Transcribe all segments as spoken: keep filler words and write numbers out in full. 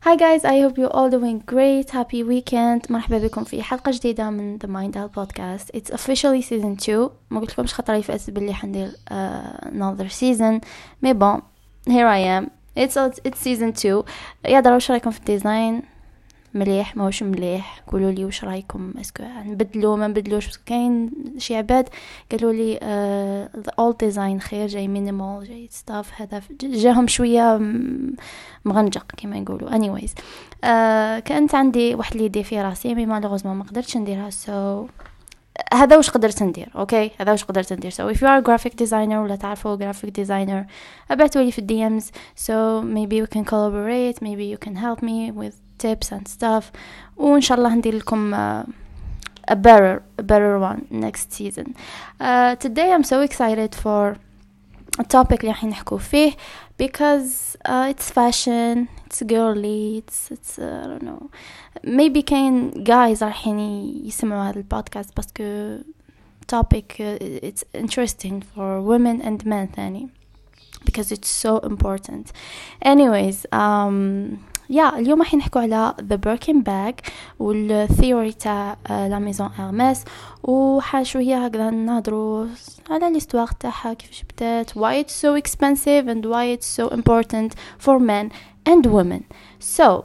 Hi guys, I hope you're all doing great. Happy weekend. مرحبا بكم في حلقة جديدة من The Mindal Podcast. It's officially season two. ما قلت لكمش خطري فأس باللي حندير uh, another season. Mais bon, here I am. It's it's season two. يا درا وش رايكم في الديزاين؟ مليح ما وش مليح؟ قولوا لي وش رايكم؟ اسكو نبدلو ما نبدلوش؟ بس كاين شي عباد قالوا لي uh, the old design خير، جاي minimal جاي stuff هذا جاهم شويه مغنجق كما يقولوا. anyways uh, كانت عندي واحد ليدي في راسي مي مالوغوزمون ما قدرتش نديرها. so هذا وش قدرت ندير. اوكي هذا وش قدرت ندير. so if you are a graphic designer ولا تعرفوا graphic designer ابعتوا لي في الدي امز. so maybe we can collaborate, maybe you can help me with tips and stuff, وإن شاء الله ندير لكم uh, a better a better one next season. uh, today I'm so excited for a topic اللي راح نحكوا فيه because uh, it's fashion, it's girly, it's it's uh, I don't know, maybe كاين guys راح يسمعوا هذا البودكاست باسكو topic uh, it's interesting for women and men ثاني because it's so important. anyways um يا yeah, اليوم راح نحكوا على the Birkin bag والثيوري تاع لا ميزون إرميس، وحاجة شوية هكذا نهضروا على الاستواغ تاعها كيفاش بدات, why it's so expensive and why it's so important for men and women. so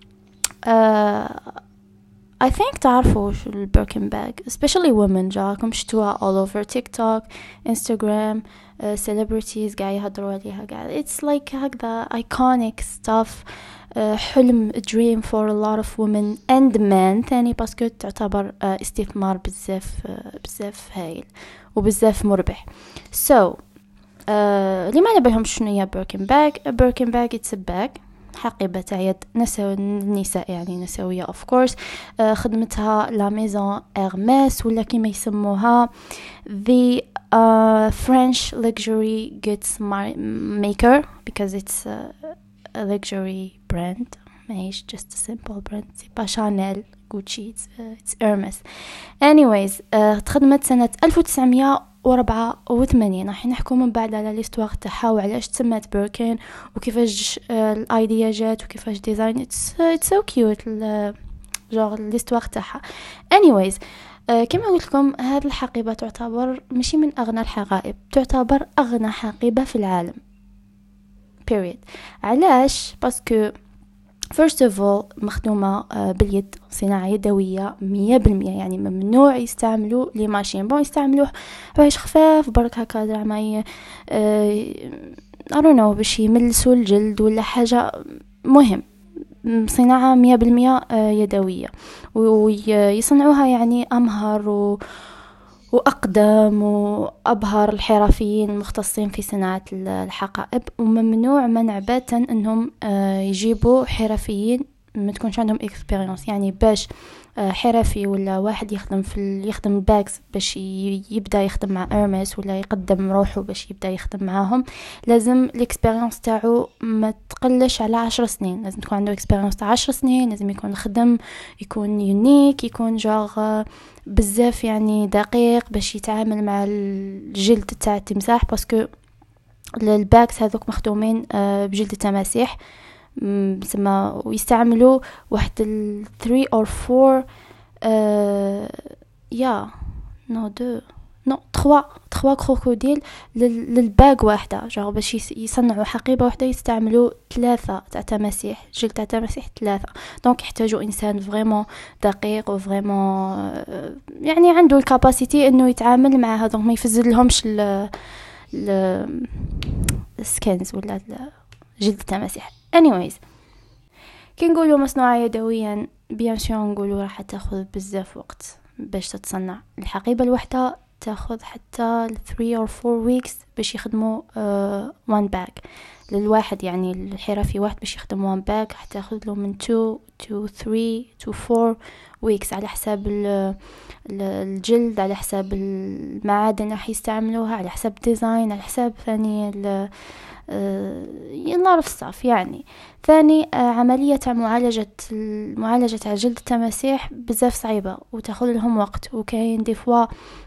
uh, I think تعرفوا شو البيركن bag especially women, جاكم شتوها all over TikTok, Instagram, uh, celebrities قاعد يهضروا عليها قاعد. it's like هكذا iconic stuff, uh, حلم dream for a lot of women and men ثاني باسكو تعتبر uh, استثمار بزاف uh, بزاف هايل وبزاف مربح. so uh, اللي ما نبيهم شنو هي بيركن bag. بيركن bag it's a bag حقيبة تاع يد نسو النساء يعني نسوية of course. uh, خدمتها لا ميزون إرميس ولا كيما يسموها the uh, French luxury goods maker because it's uh, a luxury brand. ماهيش just a simple brand, c'est pas Chanel, Gucci, it's, uh, it's Hermes. anyways uh, تخدمت سنة ألف وتسعمية وأربعة وثمانين. راح نحكوا من بعد على الاستواغ تاعها وعلاش تسمت بيركن وكيفاش الايديا جات وكيفاش ديزاين. اتس اتس سو كيوت جوغ الاستواغ تاعها. anyways uh, كما قلت لكم هذه الحقيبه تعتبر ماشي من اغنى الحقائب, تعتبر اغنى حقيبه في العالم period. علاش؟ باسكو first of all مخدومة باليد, صناعة يدوية مية بالمية, يعني ممنوع يستعملوا لي ماشين. بون يستعملوه باش خفاف برك هكا زعما ي I don't know باش يملسوا الجلد ولا حاجة. مهم صناعة مية بالمية يدوية ويصنعوها يعني أمهر و وأقدم وأبهر الحرفيين المختصين في صناعة الحقائب, وممنوع منع باتا أنهم يجيبوا حرفيين ما تكونش عندهم experience. يعني باش حرفي ولا واحد يخدم في يخدم باكس باش يبدأ يخدم مع إرميس ولا يقدم روحه باش يبدأ يخدم معاهم, لازم الاكسبيرينس تاعو ما تقلش على عشر سنين. لازم تكون عنده اكسبيرينس تاع عشر سنين, لازم يكون خدم, يكون يونيك, يكون جاغ بزاف يعني دقيق باش يتعامل مع الجلد تاع التمساح, باسكو الباكس هذوك مخدومين بجلد التماسيح بسما, ويستعملوا واحد ال three or four يا نو دو نو تخوا تخوا كروكوديل للباق واحدة, جاو باش يصنعوا حقيبة واحدة يستعملوا ثلاثة تاع تماسيح, جلد تاع تماسيح ثلاثة. دونك يحتاجوا انسان فريمون دقيق وفريمون يعني عنده الكاباسيتي انه يتعامل مع هذوك, ما يفزد لهمش ال السكنز ولا جلد التماسيح. anyways كي نقولوا مصنوعة يدويا بيان سور نقولوا راح تاخذ بزاف وقت باش تتصنع. الحقيبة الواحدة تاخذ حتى three or four weeks باش يخدموا uh, one bag للواحد, يعني الحرفي واحد باش يخدم one bag حتاخذ له من two to three to four weeks على حساب الجلد, على حساب المعادن راح يستعملوها, على حساب ديزاين, على حساب ثاني ال ينعرف الصف يعني. ثاني عملية معالجة معالجة على جلد التماسيح بزاف صعيبة وتأخذ لهم وقت, وكاين دي فوا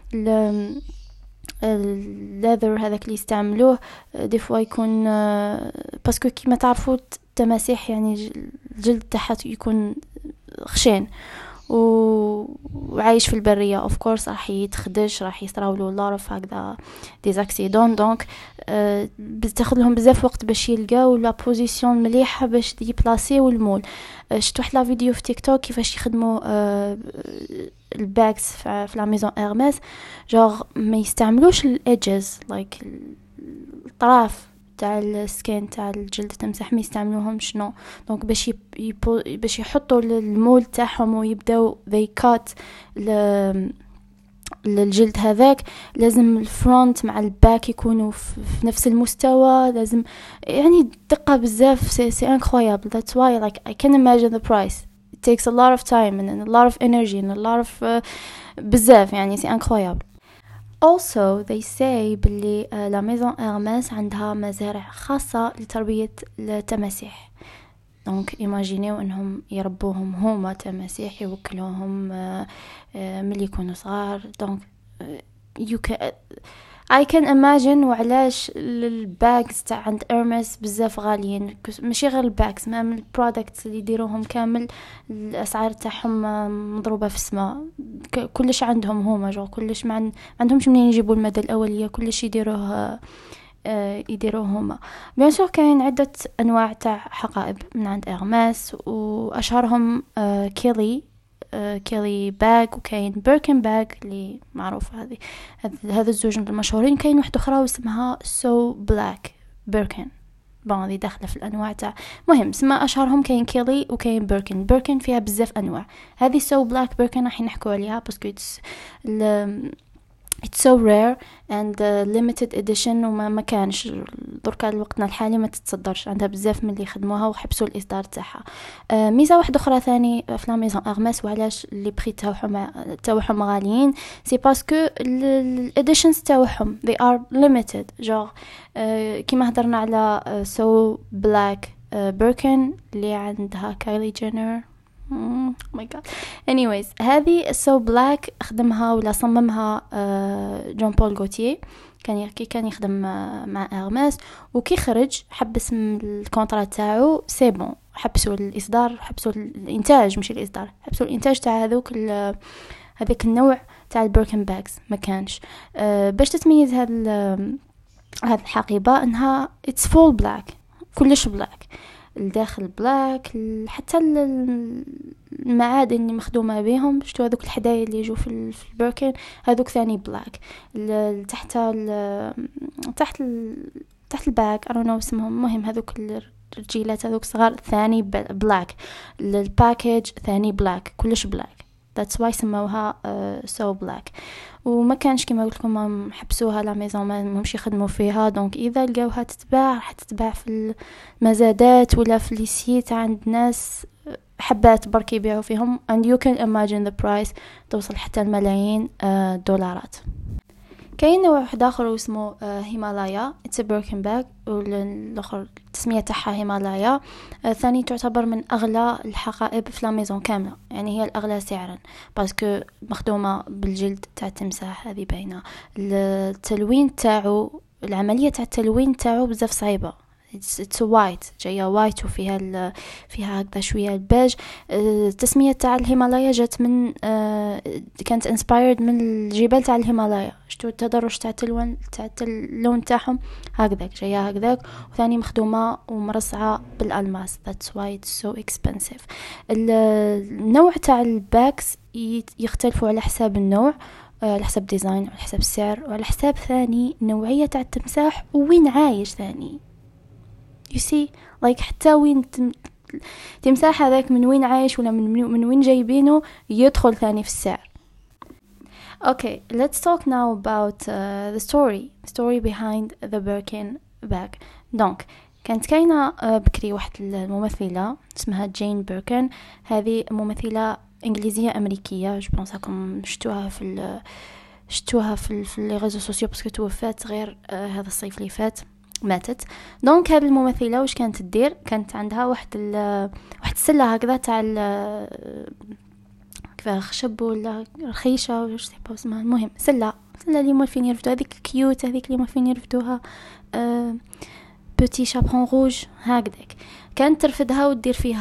الليذر هذاك اللي يستعملوه دي فوا يكون باسكو كيما تعرفوا التماسيح يعني الجلد تاعها يكون خشين وعايش في البرية of course راح يتخدش، راح يصراولو lot of هكذا des accidents. دونك أه بتاخذ لهم بزاف وقت باش يلقاو لا بوزيشن مليحه باش يبلاسيو المول. أه شفت واحد لا فيديو في تيك توك كيفاش يخدموا أه الباكس في لا ميزون ايرميس، جوغ ما يستعملوش الايدجز لايك الطراف تاع السكين تاع الجلد تمسح، ما يستعملوهم شنو دونك باش يبو باش يحطوا المول تاعهم ويبداو they cut للجلد هذاك. لازم الفرونت مع الباك يكونوا في نفس المستوى، لازم يعني دقة بزاف. سي سي incroyable. That's why like I can imagine the price. It takes a lot of time and a lot of energy and a lot of uh, بزاف يعني سي incroyable. Also they say باللي لا ميزون إرميس عندها مزارع خاصة لتربية التماسيح. دونك ايماجينيو انهم يربوهم هما تماسيح، يوكلوهم ملي يكونوا صغار. دونك you can I can imagine وعلاش الباكس تاع عند إرميس بزاف غاليين. ماشي غير الباكس، ما من البرودكتس اللي يديروهم كامل الاسعار تاعهم مضروبه في السماء. كلش عندهم هما جو كلش ما عن... عندهمش منين يجيبوا المدى الاوليه، كلش يديروه آه يديروه هما. بيان سور كاين عده انواع تاع حقائب من عند إرميس، واشهرهم آه كيلي آه كيلي باغ، وكاين بيركن باغ اللي معروفه هذه. هذا الزوج المشهورين. كاين واحده اخرى اسمها سو بلاك بيركن، بون هذه داخله في الانواع تاع مهم اسمها اشهرهم. كاين كيلي وكاين بيركن. بيركن فيها بزاف انواع. هذه سو بلاك بيركن راح نحكوا عليها باسكو اتس it's so rare and uh, limited edition وما ما كانش دركا الوقتنا الحالي ما تتصدرش. عندها بزاف من اللي يخدموها وحبسوا الاصدار تاعها. آه ميزه واحده اخرى ثاني في لا ميزون إرميس وعلاش اللي بري تاعهم تاعهم غاليين، سي باسكو الاديشنز تاعهم they are limited. جور آه كيما هضرنا على سو بلاك بيركن اللي عندها كايلي جينر. Oh my god. Anyways هذه سو بلاك خدمها ولا صممها جون بول غوتيه. كان كي كان يخدم مع إرميس وكي خرج حبس الكونترا تاعو سي بون، حبسوا الاصدار، حبسوا الانتاج مش الاصدار، حبسوا الانتاج تاع هذوك هذاك النوع تاع البيركن باكس ما كانش. أه باش تتميز هذا هذه الحقيبه انها اتس فول بلاك، كلش بلاك، الداخل بلاك، حتى المعادن اللي مخدومه بهم شتو هذوك الحدايا اللي يجوا في البيركن هذوك ثاني بلاك. تحت تحت تحت الباك I don't know اسمهم، مهم هذوك الرجيلات هذوك صغار ثاني بلاك، الباكيج ثاني بلاك، كلش بلاك. that's why سموها uh, so black. وما كانش كما قلت لكم حبسوها لا ميزون ما مش يخدموا فيها. دونك اذا لقاوها تتباع راح تتباع في المزادات ولا في لي سيت عند ناس حبات برك يبيعوا فيهم and you can imagine the price توصل حتى الملايين uh, دولارات. كاين نوع واحد اخر اسمه هيمالايا اتس بيركن باغ، والاخر التسميه تاعها هيمالايا. ثاني تعتبر من اغلى الحقائب في لا ميزون كامله، يعني هي الاغلى سعرا باسكو مخدومه بالجلد تاع التمساح. هذه باينه التلوين تاعو، العمليه تاع التلوين تاعو بزاف صعيبه. it's white جايه وايت وفيها ال... فيها هكذا شويه البيج. التسميه تاع الهيمالايا جات من كانت inspired من الجبال تاع الهيمالايا. شتو التدرج تاع التلوين تاع اللون تاعهم هكذاك جايه هكذاك، وثاني مخدومه ومرصعه بالالماس. that's why it's so expensive. النوع تاع الباكس يختلفوا على حساب النوع، على حسب ديزاين، على حسب السعر، وعلى حساب ثاني نوعيه تاع التمساح وين عايش ثاني. you see like حتى وين تمساح هذاك من وين عايش ولا من من وين جايبينه يدخل ثاني في السعر. okay let's talk now about uh, the story story behind the Birkin bag. دونك كانت كاينه uh, بكري واحد الممثله اسمها جين بيركن. هذه ممثله انجليزيه امريكيه، جو بونس راكم شفتوها في شفتوها في في لي ريزو سوسيو باسكو توفات غير uh, هذا الصيف اللي فات، ماتت. دونك هذه الممثله واش كانت تدير، كانت عندها واحد ال واحد السله هكذا تاع كيف خشب ولا رخيشه واش تبغى اسمها، المهم سله سله اللي مولفين يرفدوا هذيك كيوت، هذيك اللي مولفين يرفدوها أه بوتي شابون روج هكذاك. كانت ترفدها ودير فيها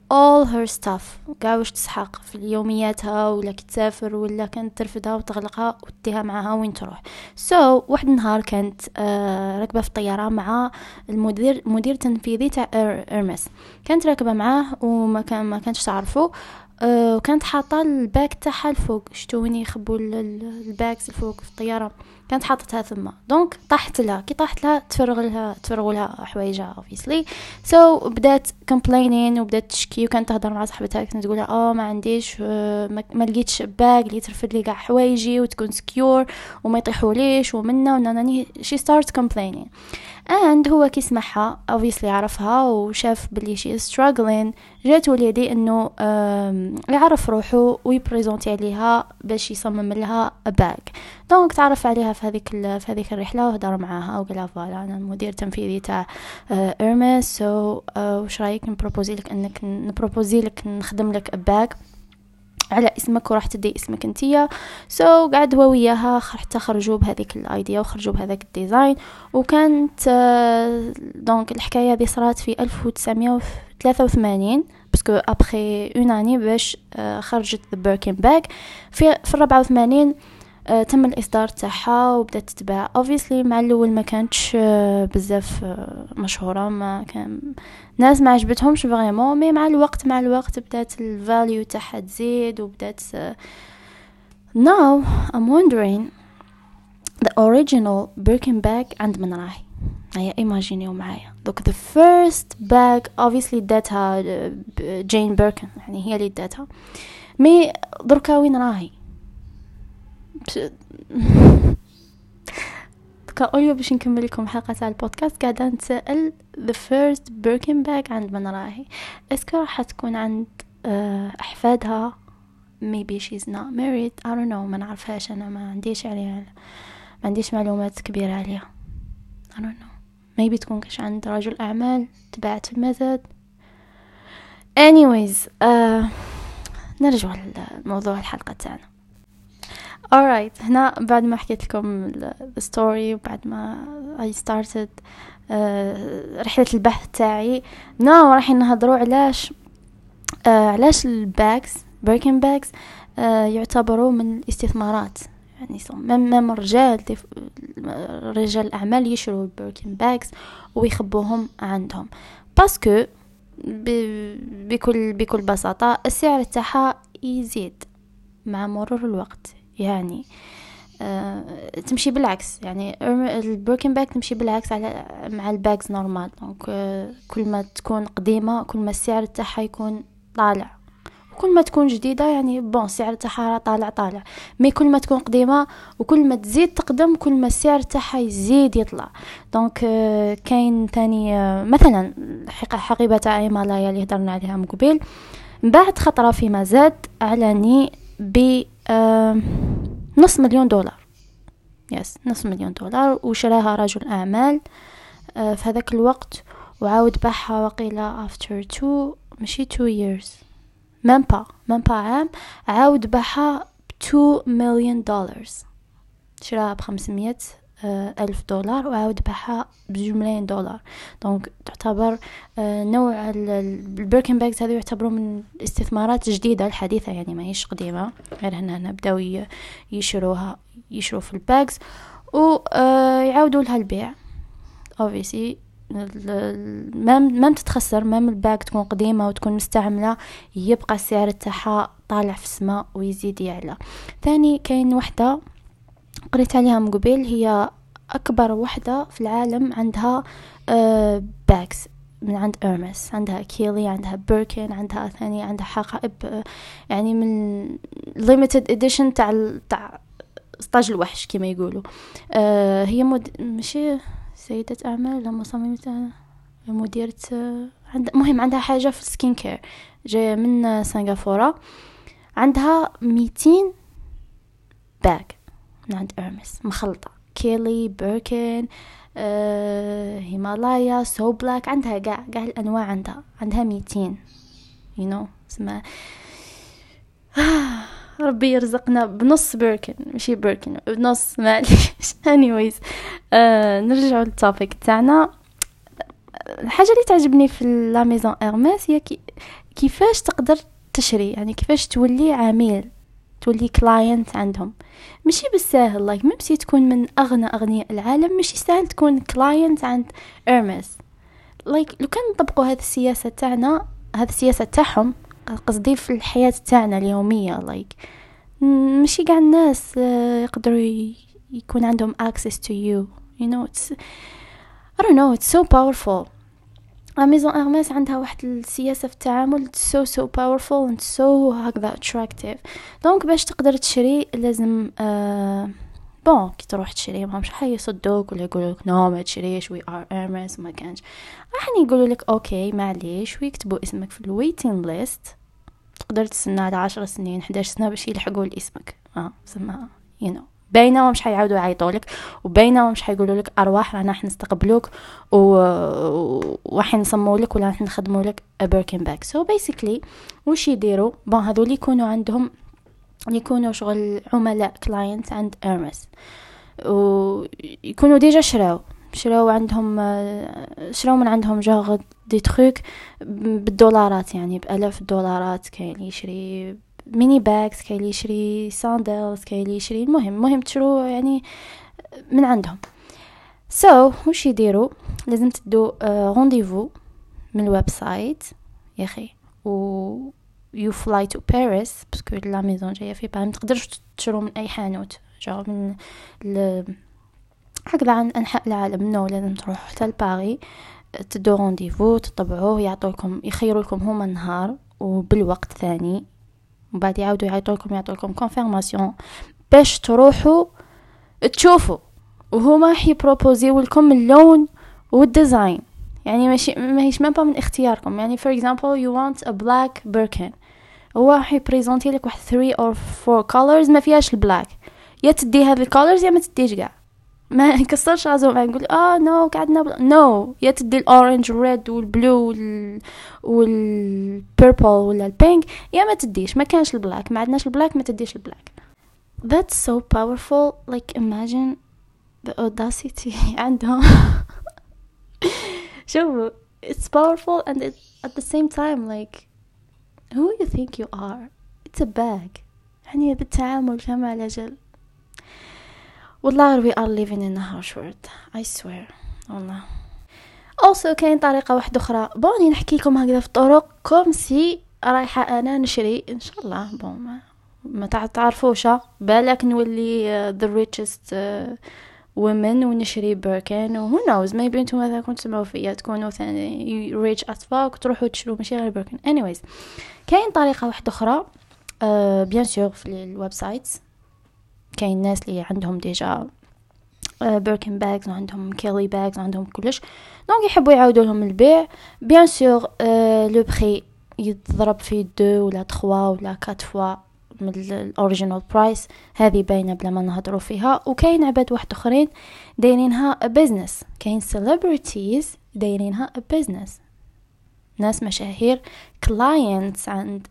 all her stuff قاع واش تسحق في يومياتها، ولا كتسافر ولا كانت ترفدها وتغلقها وتديها معها وين تروح. سو so, واحد النهار كانت آه راكبه في الطياره مع المدير مدير تنفيذي تاع إرمس. كانت راكبه معاه وما كان ما كانش تعرفه، أه وكانت حاطه الباك تاعها الفوق. شتو وين يخبوا الباكس الفوق في الطياره، كانت حاطتها ثم. دونك طاحت لها، كي طاحت لها تفرغ لها تفرغوا لها حوايجها obviously. سو so, بدات complaining وبدات تشكي، وكانت تهضر مع صاحبتها كانت تقول لها اه ما عنديش أه ما لقيتش باك اللي ترفد لي كاع حوايجي وتكون سكيور وما يطيحوليش ومنه وناني. she starts complaining and هو كي سمعها obviously عرفها وشاف بلي she is struggling. جات وليدي انه يعرف روحه ويبريزونتي عليها باش يصمم لها باك. دونك تعرف عليها في هذيك في هذيك الرحله وهضر معاها وقال لها فوالا انا المدير التنفيذي تاع إرمس، سو واش رايك نبروبوزي لك انك نبروبوزي لك نخدم لك باك على اسمك وراح تدي اسمك انتيا. سو so, قعد هو وياها حتى خرجوا بهذيك الايديا وخرجوا بهذاك الديزاين. وكانت دونك الحكايه هذه صارت في ألف وتسعمية وثلاثة وثمانين باسكو ابري اون اني باش خرجت ذا بيركن باك. في في أربعة وثمانين Uh, تم الاصدار تاعها وبدات تتباع. obviously مع الاول ما كانتش uh, بزاف uh, مشهوره، ما كان ناس ما عجبتهمش فريمون، مي مع الوقت مع الوقت بدات الفاليو تاعها تزيد وبدات uh... now I'm wondering the original Birkin bag عند من راهي. هيا ايماجينيو معايا دوك the first bag obviously داتها جين بيركن، يعني هي اللي داتها، مي دركا وين راهي؟ كأوليو باش نكمل لكم حلقة تاع البودكاست قاعدة نتسأل the first Birkin bag عند من راهي. اسكو راح تكون عند أحفادها؟ maybe she's not married, I don't know. ما نعرفهاش أنا، ما عنديش عليها ما عنديش معلومات كبيرة عليها. I don't know. maybe تكون كاش عند رجل أعمال تبعت في المزاد. anyways uh, نرجع لموضوع الحلقة تاعنا. alright. هنا بعد ما حكيت لكم the story وبعد ما I started uh, رحلة البحث تاعي، now راح نهضروا علاش uh, علاش الباكس Birkin bags uh, يعتبروا من الاستثمارات. يعني مم الرجال رجال الأعمال يشروا البيركن باكس ويخبوهم عندهم باسكو بكل بكل بساطة السعر تاعها يزيد مع مرور الوقت. يعني آه، تمشي بالعكس، يعني البيركن باك تمشي بالعكس على مع الباكس نورمال. دونك آه، كل ما تكون قديمة كل ما السعر تاعها يكون طالع، كل ما تكون جديدة يعني بون السعر تاعها طالع طالع. مي كل ما تكون قديمة وكل ما تزيد تقدم كل ما السعر تاعها يزيد يطلع. دونك آه، كاين تاني آه، مثلا حقيبة تاع هيمالايا اللي هدرنا عليها من قبل، بعد خطرة في مزاد اعلاني ب آه نص مليون دولار. يس نص مليون دولار، وشراها رجل اعمال آه في هذاك الوقت، وعاود باعها وقيلة after two ماشي two years مام با مام با عام، عاود باعها two million dollars. شراها بخمسمية ألف دولار وعاود باعها بجوج ملايين دولار. دونك تعتبر آه نوع البيركن باكس هذه يعتبروا من استثمارات جديدة الحديثة، يعني ما هيش قديمة، غير هنا نبداو يشروها يشروا في الباكس ويعاودوا لها البيع. obviously ما ما تتخسر، ما الباك تكون قديمة وتكون مستعملة يبقى السعر تاعها طالع في السماء ويزيد يعلى. ثاني كاين وحدة قريت عليها من قبل، هي أكبر وحدة في العالم عندها آه باكس من عند إرمس، عندها كيلي، عندها بيركن، عندها ثاني عندها حقائب آه يعني من limited edition تاع تاع ستاج الوحش كما يقولوا. آه هي مد... ماشي سيدة أعمال لما صممت مديرة آه عند... مهم عندها حاجة في السكين كير جاية من سنغافورة، عندها ميتين باك من عند إرمس مخلطة كيلي بيركن آه، هيمالايا سو بلاك، عندها قاع قاع الأنواع، عندها عندها ميتين you know اسمها ربي يرزقنا بنص بيركن ماشي بيركن بنص معليش. anyways آه، نرجع للتوبيك تاعنا. الحاجة اللي تعجبني في لا ميزون إرمس هي كي كيفاش تقدر تشري، يعني كيفاش تولي عميل، تولي كلاينت عندهم. ماشي بالساهل، لايك ممكن تكون من اغنى اغنياء العالم ماشي سهل تكون كلاينت عند إرمس. لايك لو كان نطبقوا هذه السياسه تاعنا، هذه السياسه تاعهم قصدي في الحياه تاعنا اليوميه، لايك ماشي كاع الناس يقدروا يكون عندهم access to you you know it's I don't know it's so powerful. ميزون إرمس عندها واحد السياسة في التعامل so so powerful and so هكذا attractive. دونك باش تقدر تشري لازم آه بون كي تروح تشري ما مش حيصدوك ولا يقولوك نو ما تشريش we are إرمس وما كانش، راح يقولوا لك اوكي معليش ويكتبوا اسمك في الويتين ليست، تقدر تستنى على عشر سنين إحدى عشر سنة باش يلحقوا لاسمك. اه سما you know بينما مش حيعاودوا يعيطوا لك، وبينما مش حيقولوا لك ارواح رانا راح نستقبلوك وراح نصموا لك ولا راح نخدموا لك a Birkin bag. so basically وش يديروا بون هذول يكونوا عندهم يكونوا شغل عملاء كلاينت عند إرمس، ويكونوا ديجا شراو شراو عندهم شراو من عندهم جاغ دي تروك بالدولارات، يعني بألاف الدولارات. كاين اللي يشري ميني باكس، كاين اللي يشري ساندلز، كاين اللي يشري المهم مهم تشرو يعني من عندهم. سو so, وش يديروا لازم تدو رونديفو من الويب سايت يا اخي، و you fly to Paris باسكو لا ميزون جايه في باريس، ما تقدرش تشرو من اي حانوت جا من ل... هكذا عن انحاء العالم، نو لازم تروح حتى لباريس تدو رونديفو تطبعوه، يعطولكم يخيروا لكم هما النهار وبالوقت ثاني، وبعد يعاودوا يعطوا لكم يعطوا لكم كونفيرماسيون باش تروحوا تشوفوا، وهما يبروبوزيو لكم اللون والديزاين، يعني ماشي ماهيش مابا من اختياركم. يعني for example you want a black Birkin، هو راح يبريزونتي لك واحد three or four colors ما فيهاش البلاك، يا تدي هذه الكولرز يا ما تديش كاع، ما يكسرش راسو ما نقول اه نو قعدنا نو no. يا تدي الاورنج والريد والبلو وال والبيربل ولا البينك، يا ما تديش، ما كانش البلاك، ما عندناش البلاك، ما تديش البلاك. That's so powerful. Like imagine the audacity عندهم. شوفوا it's powerful and it, at the same time like who you think you are. It's a bag. يعني بالتعامل كما على جل. والله we are living in a harsh world. I swear. والله. Also كاين طريقة واحدة أخرى، بوني نحكي لكم هكذا في طرق كوم سي رايحة أنا نشري إن شاء الله بون ما, ما تعرفوش بالك نولي uh, the richest uh, women ونشري بيركن و who knows maybe انتم ماذا كنتم تسمعوا فيها تكونوا ثاني rich as fuck تروحوا تشروا ماشي غير بيركن. anyways كاين طريقة واحدة أخرى بيان uh, سور في الويب سايتس كاين ناس اللي عندهم ديجا بيركن باغز وعندهم كيلي باغز وعندهم كلش، دونك يحبوا يعاودوا لهم البيع. بيان سور لو بري يضرب في دو ولا تخوا ولا كات فوا من الاوريجينال برايس، هذه باينه بلا ما نهضروا فيها. وكاين عباد واحد اخرين دايرينها بزنس، كاين سيلبرتيز دايرينها بزنس، ناس مشاهير كلاينتس عند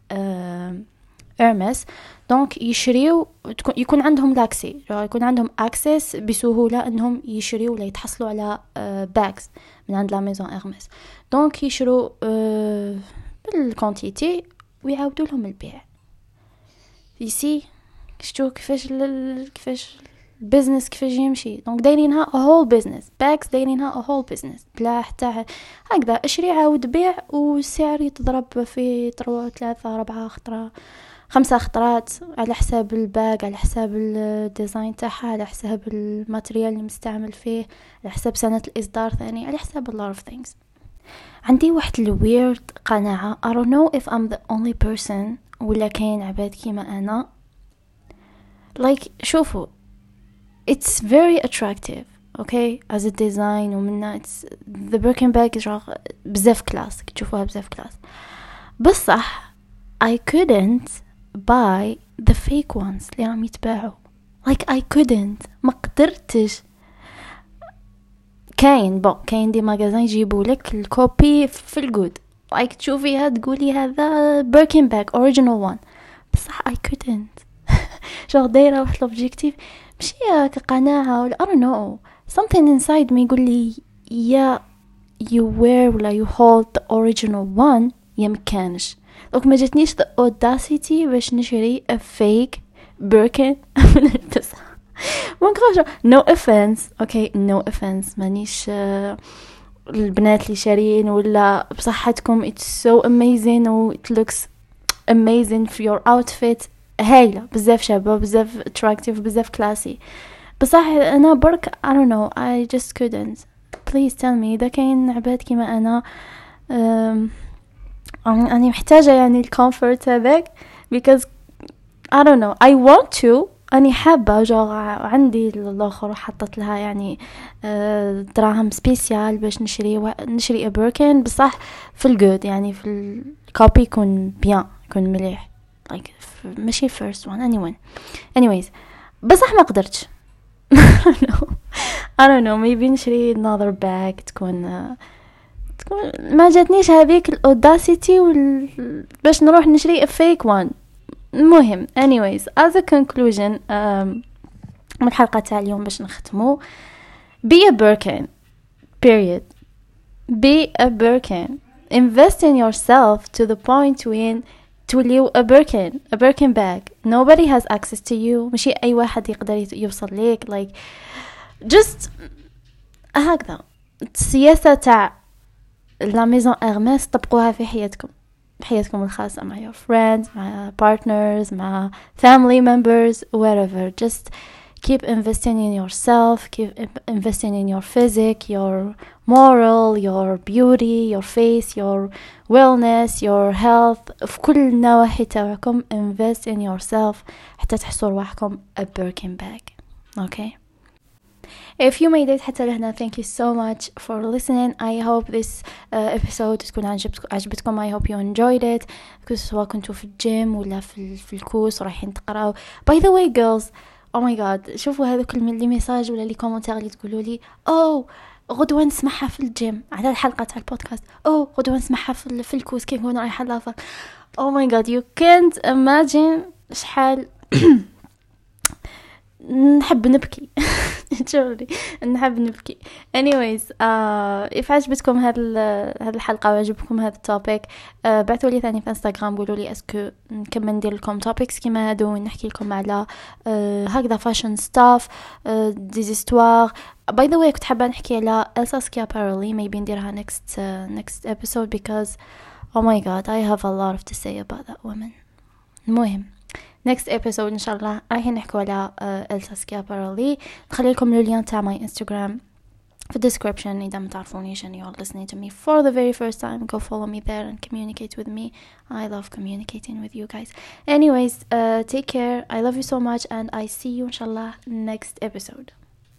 إرمس، دونك يشريو يكون عندهم لاكسي، يكون عندهم اكسس بسهوله انهم يشريو ولا يتحصلوا على باكس من عند لا ميزون إرمس، دونك يشرو بالكونتيتي ويعاودوا لهم البيع. يسي شتو كيفاش كيفاش البيزنس كيفاش يمشي. دونك دايرينها a whole business باكس، دايرينها a whole business بلا حتى هكذا اشري عاود بيع، والسعر يتضرب في ثلاثة ثلاثة أربعة خطرة خمسة خطرات على حساب الباق، على حساب الديزاين تاعها، على حساب الماتريال اللي مستعمل فيه، على حساب سنة الإصدار ثاني، على حساب a lot of things. عندي واحد الويرد قناعة I don't know if I'm the only person ولا كاين عباد كيما أنا like شوفوا it's very attractive okay as a design ومنها it's the Birkin bag is بزاف كلاس تشوفوها بزاف كلاس، بصح I couldn't buy the fake ones اللي راهم يتباعوا like I couldn't ما قدرتش. كاين بون كاين دي ماغازين يجيبوا لك الكوبي في الجود like تشوفيها تقولي هذا Birkin bag original one، بصح I couldn't شو دايره واحد الأوبجيكتيف ماشي كقناعه ولا I don't know something inside me يقول لي يا you wear ولا you hold the original one يا مكانش. دوك ما جاتنيش the audacity باش نشري a fake Birkin نلبسها. مونكروش no offense okay no offense مانيش uh, البنات اللي شارين ولا بصحتكم it's so amazing و it looks amazing for your outfit هايلة بزاف شابة بزاف attractive بزاف classy بصح أنا برك I don't know I just couldn't please tell me إذا كاين عباد كيما أنا أنا محتاجة يعني الكومفورت هذاك because I don't know I want to أني حابة جو عندي الآخر حطت لها يعني دراهم سبيسيال باش نشري و... نشري أبركن بصح في الجود يعني في الكوبي يكون بيان يكون مليح like ماشي first one anyone anyways بصح ما قدرتش I don't know I don't know maybe نشري another bag تكون تكون ما جاتنيش هذيك الأوداسيتي وال... باش نروح نشري a fake one. المهم anyways as a conclusion um, من الحلقة تاع اليوم باش نختمو be a Birkin period be a Birkin invest in yourself to the point when توليو a Birkin a Birkin bag nobody has access to you ماشي أي واحد يقدر يوصل ليك like just هكذا السياسة تاع la maison Hermès طبقوها في حياتكم بحياتكم الخاصة مع your friends مع partners مع family members wherever just keep investing in yourself keep investing in your physique your moral your beauty your face your wellness your health في كل النواحي تاعكم invest in yourself حتى تحسوا رواحكم a Birkin bag okay if you made it حتى لهنا thank you so much for listening I hope this uh, episode تكون عجبتكم I hope you enjoyed it سواء كنتوا في الجيم ولا في, في الكورس رايحين تقراو by the way girls oh my god شوفوا هذا كل من لي ميساج ولا لي كومنتار اللي تقولوا لي oh غدوة نسمعها في الجيم على الحلقة تاع البودكاست oh غدوة نسمعها في, في الكورس كيف كنا رايحة لافا oh my god you can't imagine شحال نحب نبكي تشوفي نحب نبكي anyways uh, if عجبتكم هذا هذه الحلقه وعجبكم هذا التوبيك uh, بعثوا لي ثاني في انستغرام قولوا لي اسكو نكمل ندير لكم توبكس كيما هادو ونحكي لكم على uh, هكذا فاشن ستاف ديزيستوار باي ذا واي كنت حابه نحكي على إلسا سكيابارلي maybe نديرها next uh, next episode because oh my god I have a lot to say about that woman. المهم next episode إن شاء الله رايحين نحكوا على إلسا سكيابارلي نخلي لكم اللين تاع my Instagram في description إذا ما تعرفونيش and you're listening to me for the very first time go follow me there and communicate with me I love communicating with you guys anyways uh, take care I love you so much and I see you إن شاء الله next episode.